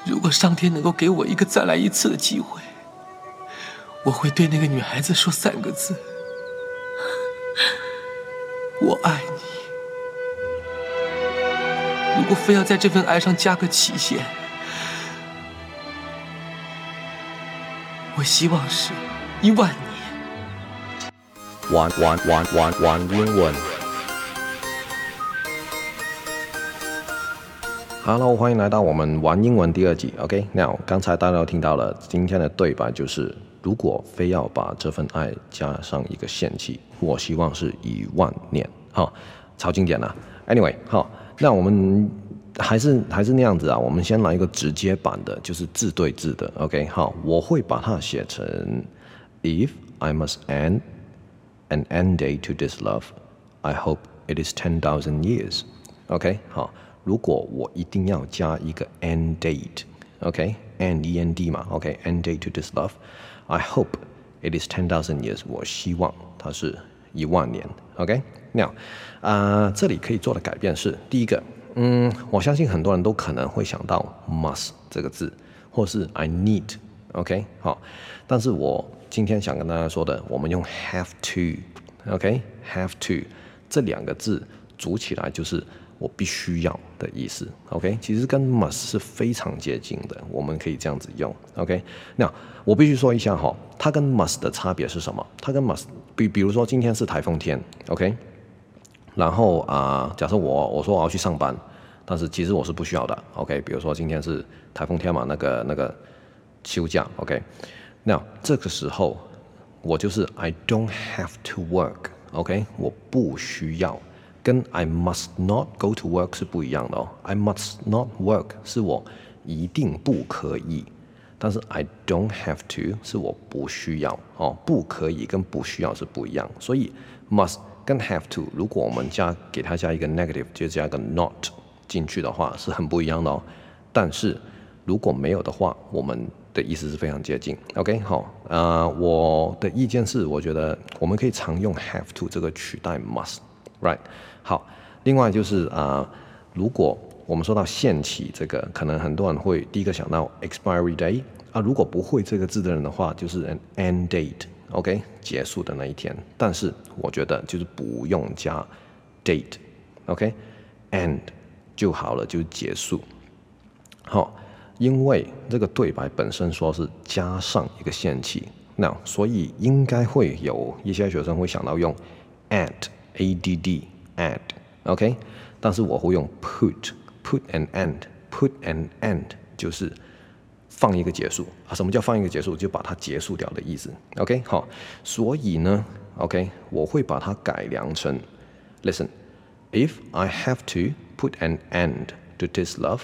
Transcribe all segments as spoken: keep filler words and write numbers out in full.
如果上天能夠給我一個再來一次的機會，我會對那個女孩子說三個字：我愛你。如果非要在這份愛上加個期限，我希望是一萬年。 玩玩玩玩玩英文。Hello， 歡迎來到我們玩英文第二集。OK，Now，、okay? 剛才大家都聽到了，今天的對白就是：如果非要把這份愛加上一個限期，我希望是一萬年。好，超經典了。Anyway， 好，那我們還是還是那樣子啊。我們先來一個直接版的，就是字對字的。OK， 好，我會把它寫成 If I must end an end date to this love, I hope it is ten thousand years. OK， 好。如果我一定要加一個 end date，OK，end E N D 嘛 ，OK，end date to this love，I hope it is ten thousand years。我希望它是一萬年 ，OK。Now， 啊、呃，這裡可以做的改變是，第一個，嗯，我相信很多人都可能會想到 must 這個字，或是 I need，OK， 好，但是我今天想跟大家說的，我們用 have to，OK，have to 這兩個字組起來就是我必須要的意思 ，OK， 其實跟 must 是非常接近的，我們可以這樣子用 ，OK。那我必須說一下哈，它跟 must 的差別是什麼？它跟 must 比比如說今天是颱風天 ，OK， 然後啊、呃，假設我我說我要去上班，但是其實我是不需要的 ，OK。比如說今天是颱風天嘛，那個那個休假 ，OK。那這個時候我就是 I don't have to work，OK， 我不需要。跟 I must not go to work 是不一樣的哦。I must not work 是我一定不可以，但是 I don't have to 是我不需要哦。不可以跟不需要是不一樣，所以 must 跟 have to 如果我們加給它加一個 negative 就加一個 not 進去的話是很不一樣的哦。但是如果沒有的話，我們的意思是非常接近。OK， 好，呃，我的意見是，我覺得我們可以常用 have to 這個取代 must。Right， 好，另外就是啊、呃，如果我們說到限期這個，可能很多人會第一個想到 expiry day 啊，如果不會這個字的人的話，就是 an end date，OK， 結束的那一天。但是我覺得就是不用加 date，OK，end 就好了，就是結束。好，因為這個對白本身說是加上一個限期，那所以應該會有一些學生會想到用 add。add add，OK， 但是我會用 put put an end put an end 就是放一個結束啊。什麼叫放一個結束？就把它結束掉的意思。OK， 好，所以呢 ，OK， 我會把它改良成 Listen, if I have to put an end to this love,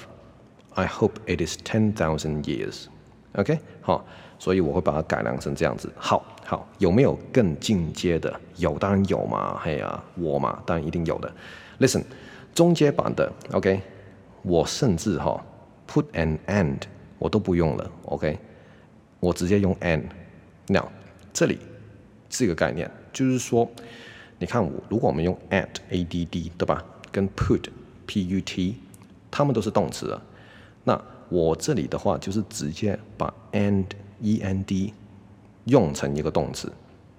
I hope it is ten thousand years。OK， 好，所以我會把它改良成這樣子。好。好，有沒有更進階的？有，當然有嘛。嘿啊，我嘛，當然一定有的。Listen， 中階版的 ，OK， 我甚至哈、哦、put an end 我都不用了 ，OK， 我直接用 and。Now， 這裡是一個概念，就是說，你看我，如果我們用 add，add， 對吧？跟 put，put， 它們都是動詞了。那我這裡的話，就是直接把 and，end。用成一個動詞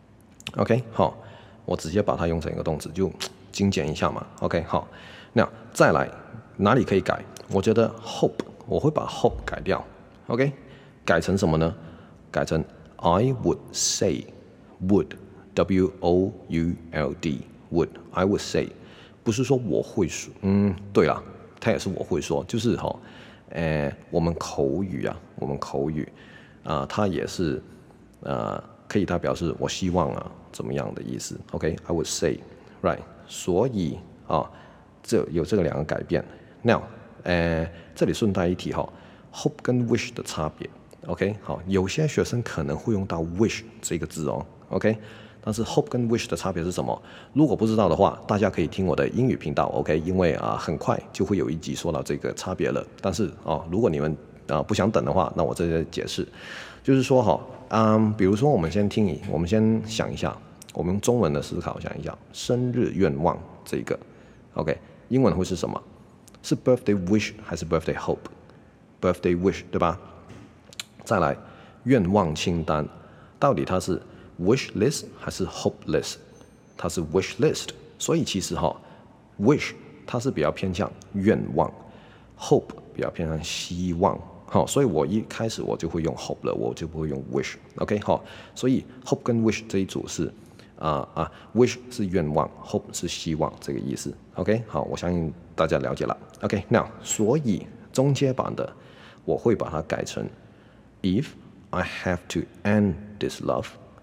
，OK， 好，我直接把它用成一個動詞，就精簡一下嘛 ，OK， 好，那再來哪裡可以改？我覺得 hope 我會把 hope 改掉 ，OK， 改成什麼呢？改成 I would say would W O U L D would I would say， 不是說我會說，嗯，對啦，它也是我會說，就是哈、哦，呃，我們口語啊，我們口語啊、呃，它也是。呃，可以代表示我希望啊怎麼樣的意思 ？OK，I would say right。所以啊，這有這個兩個改變。Now， 呃，這裡順帶一提哈 ，hope 跟 wish 的差別。OK， 好，有些學生可能會用到 wish 這個字哦。OK， 但是 hope 跟 wish 的差別是什麼？如果不知道的話，大家可以聽我的英語頻道。OK， 因為啊，很快就會有一集說到這個差別了。但是哦，如果你們啊不想等的話，那我這裡解釋，就是說哈。嗯，比如說，我們先聽一，我們先想一下，我們用中文的思考想一下，生日願望這個 ，OK， 英文會是什麼？是 birthday wish 還是 birthday hope？ birthday wish， 對吧？再來，願望清單，到底它是 wish list 還是 hope list？ 它是 wish list， 所以其實哈、哦、wish 它是比較偏向願望 ，hope 比較偏向希望。好，所以我一開始我就會用 hope 了，我就不會用 wish。OK， 好，所以 hope 跟 wish 這一組是啊啊、uh, ，wish 是願望 ，hope 是希望這個意思。OK， 好，我相信大家了解了。OK，now，、okay, 所以中階版的我會把它改成 If I have to end this love,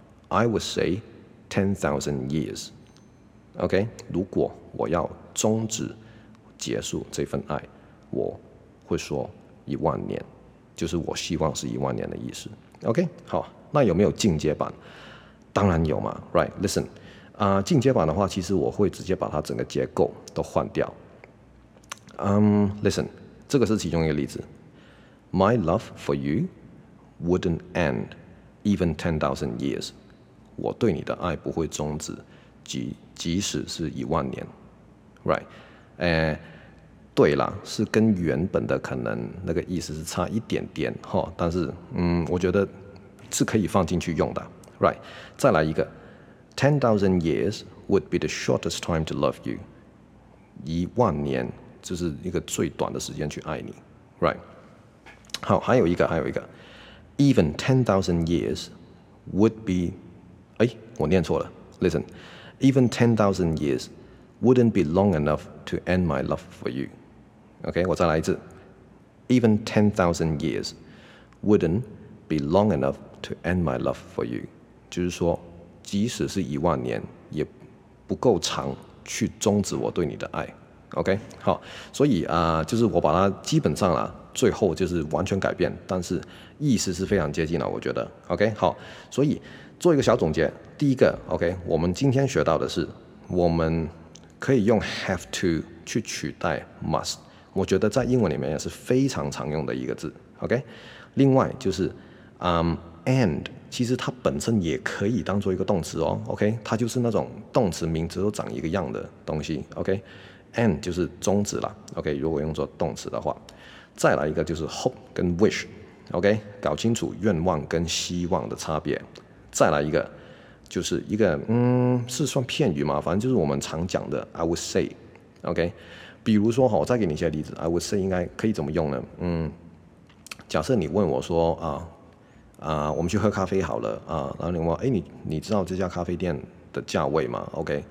I would say ten thousand years. OK， 如果我要終止結束這份愛，我會說一萬年，就是我希望是一萬年的意思。OK， 好，那有沒有進階版？當然有嘛 ，Right？ Listen， 啊、呃，進階版的話，其實我會直接把它整個結構都換掉。嗯、um, ，Listen， 這個是其中一個例子。My love for you wouldn't end even ten thousand years。我對你的愛不會終止，即即使是一萬年 ，Right？ 呃，對啦，是跟原本的可能那個意思是差一點點哈，但是嗯，我覺得是可以放進去用的 ，Right？ 再來一個 ，ten thousand years would be the shortest time to love you。一萬年就是一個最短的時間去愛你 ，Right？ 好，還有一個，還有一個 ，even ten thousand years would be， 哎，我念錯了 ，Listen，even ten thousand years wouldn't be long enough to end my love for you。OK， 我再來一次 ，even ten thousand years wouldn't be long enough to end my love for you。就是說，即使是一萬年，也不夠長去終止我對你的愛。OK， 好，所以啊、呃，就是我把它基本上啦，最後就是完全改變，但是意思是非常接近了，我覺得。OK， 好，所以做一個小總結，第一個 OK， 我們今天學到的是，我們可以用 have to 去取代 must， 我覺得在英文裡面也是非常常用的一個字。OK， 另外就是嗯 and 其實它本身也可以當做一個動詞哦。OK， 它就是那種動詞名詞都長一個樣的東西。OK。And 就是終止了 ，OK， 如果用作動詞的話，再來一個就是 hope 跟 wish，OK， 搞清楚願望跟希望的差別。再來一個就是一個嗯，是算片語嘛，反正就是我們常講的 I would say，OK， 比如說哈，我再給你一些例子 ，I would say 應該可以怎麼用呢？嗯，假設你問我說啊啊，我們去喝咖啡好了啊，然後你問我，哎，你你知道這家咖啡店的價位嗎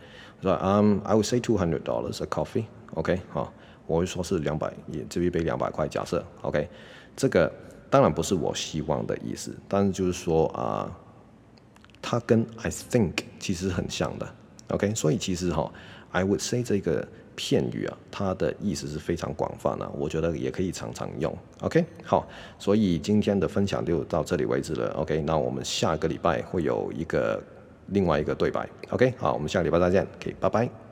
？OK。Um, I would say two hundred dollars a coffee. OK， 好，我會說是兩百，也這一杯兩百塊。假設 OK， 這個當然不是我希望的意思，但是就是說啊、呃，它跟 I think 其實很像的。OK， 所以其實哈、哦、，I would say 這個片語啊，它的意思是非常廣泛的、啊，我覺得也可以常常用。OK， 好，所以今天的分享就到這裡為止了。OK， 那我們下個禮拜會有一個。另外一個對白 ，OK， 好，我們下個禮拜再見，OK， 拜拜。